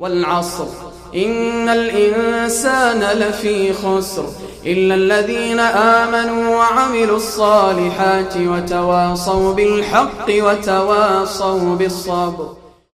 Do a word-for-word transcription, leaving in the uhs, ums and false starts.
والعصر إن الإنسان لفي خسر إلا الذين آمنوا وعملوا الصالحات وتواصوا بالحق وتواصوا بالصبر.